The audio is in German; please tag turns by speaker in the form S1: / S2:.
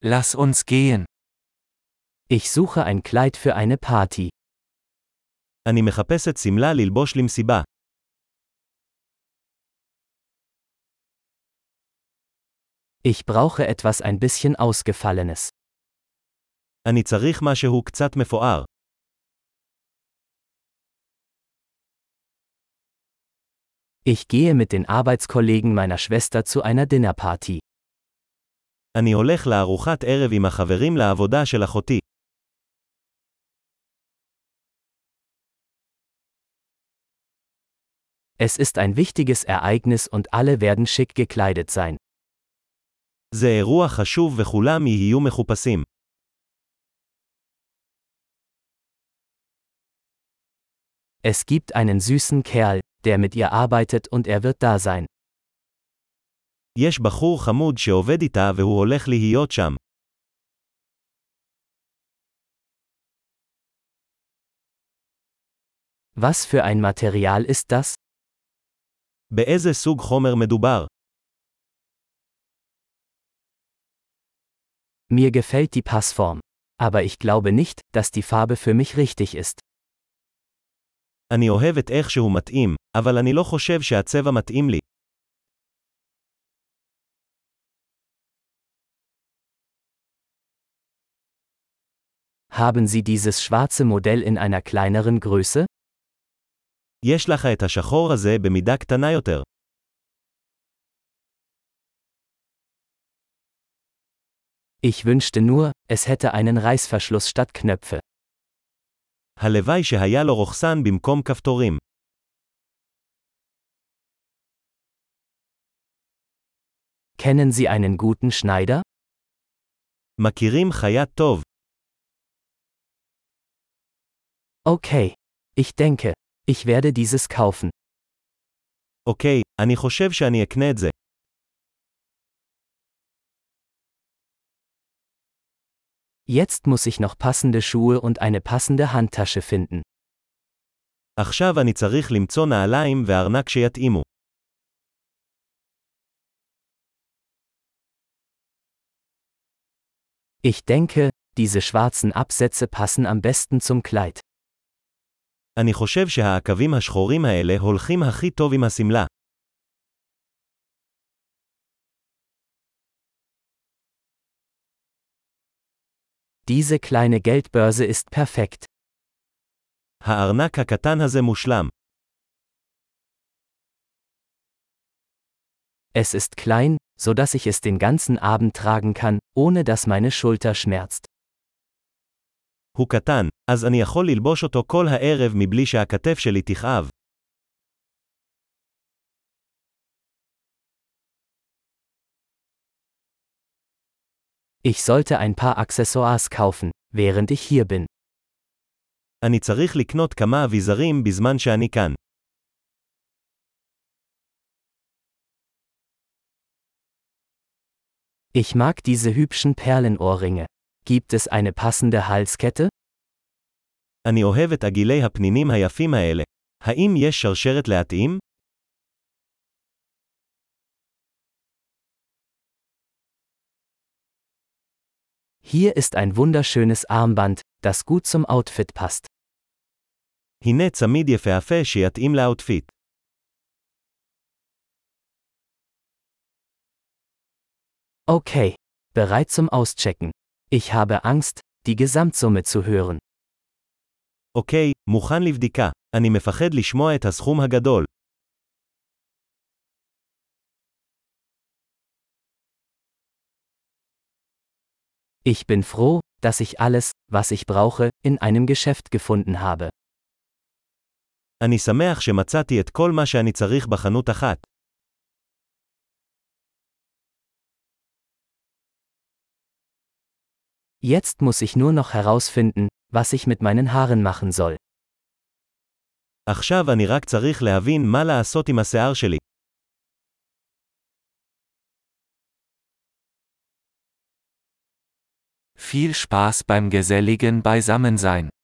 S1: Lass uns gehen.
S2: Ich suche ein Kleid für eine Party.
S3: אני מחפשת שמלה ללבוש למסיבה.
S2: Ich brauche etwas ein bisschen Ausgefallenes.
S3: אני צריך משהו קצת מפואר.
S2: Ich gehe mit den Arbeitskollegen meiner Schwester zu einer Dinnerparty.
S3: אני הולך לארוחת ערב עם החברים לעבודה של אחותי.
S2: Es ist ein wichtiges Ereignis und alle werden schick gekleidet sein.
S3: זה אירוע חשוב וכולם יהיו מחופשים.
S2: Es gibt einen süßen Kerl, der mit ihr arbeitet und er wird da sein.
S3: יש בחור חמוד שעובד איתה והוא הולך להיות שם.
S2: Was für ein Material ist das?
S3: באיזה סוג חומר מדובר?
S2: Mir gefällt die Passform. Aber ich glaube nicht, dass die Farbe für mich richtig ist.
S3: אני אוהב את איך שהוא מתאים, אבל אני לא חושב שהצבע מתאים לי.
S2: Haben Sie dieses schwarze Modell in einer kleineren Größe?
S3: יש לך את השחור הזה במידה קטנה יותר.
S2: Ich wünschte nur, es hätte einen Reißverschluss statt Knöpfe.
S3: הלוואי שהיה לו רוכסן במקום כפתורים.
S2: Kennen Sie einen guten Schneider?
S3: מכירים חייט טוב.
S2: Okay. Ich denke, ich werde dieses kaufen.
S3: אוקיי, אני חושב שאני אקנה את זה.
S2: Jetzt muss ich noch passende Schuhe und eine passende Handtasche finden.
S3: עכשיו אני צריך למצוא נעליים וארנק שיתאימו.
S2: Ich denke, diese schwarzen Absätze passen am besten zum Kleid.
S3: אני חושב שהעקבים השחורים האלה הולכים הכי טוב עם הסמלה.
S2: Diese kleine Geldbörse ist perfekt.
S3: הארנק הקטן הזה מושלם.
S2: Es ist klein, so dass ich es den ganzen Abend tragen kann, ohne dass meine Schulter schmerzt.
S3: הוא קטן, אז אני יכול ללבוש אותו כל הערב מבלי שהכתף שלי תכאב.
S2: Ich sollte ein paar Accessoires kaufen, während ich hier bin.
S3: אני צריך לקנות כמה אביזרים בזמן שאני כאן.
S2: Ich mag diese hübschen Perlenohrringe. Gibt es eine passende Halskette?
S3: אני אוהב את עגילי הפנינים היפים האלה. האם יש שרשרת להתאים?
S2: Hier ist ein wunderschönes Armband, das gut zum Outfit passt.
S3: הנה צמיד יפהפה שיתאים לאוטפיט.
S2: Okay. Bereit zum Auschecken. Ich habe Angst, die Gesamtsumme zu hören.
S3: אוקיי, מוכן לבדיקה. אני מפחד לשמוע את הסכום הגדול.
S2: Ich bin froh, dass ich alles, was ich brauche, in einem Geschäft gefunden habe.
S3: אני שמח שמצאתי את כל מה שאני צריך בחנות אחת.
S2: Jetzt muss ich nur noch herausfinden, was ich mit meinen Haaren machen soll.
S3: עכשיו אני רק צריך להבין מה לעשות עם השיער שלי.
S1: Viel Spaß beim geselligen Beisammensein.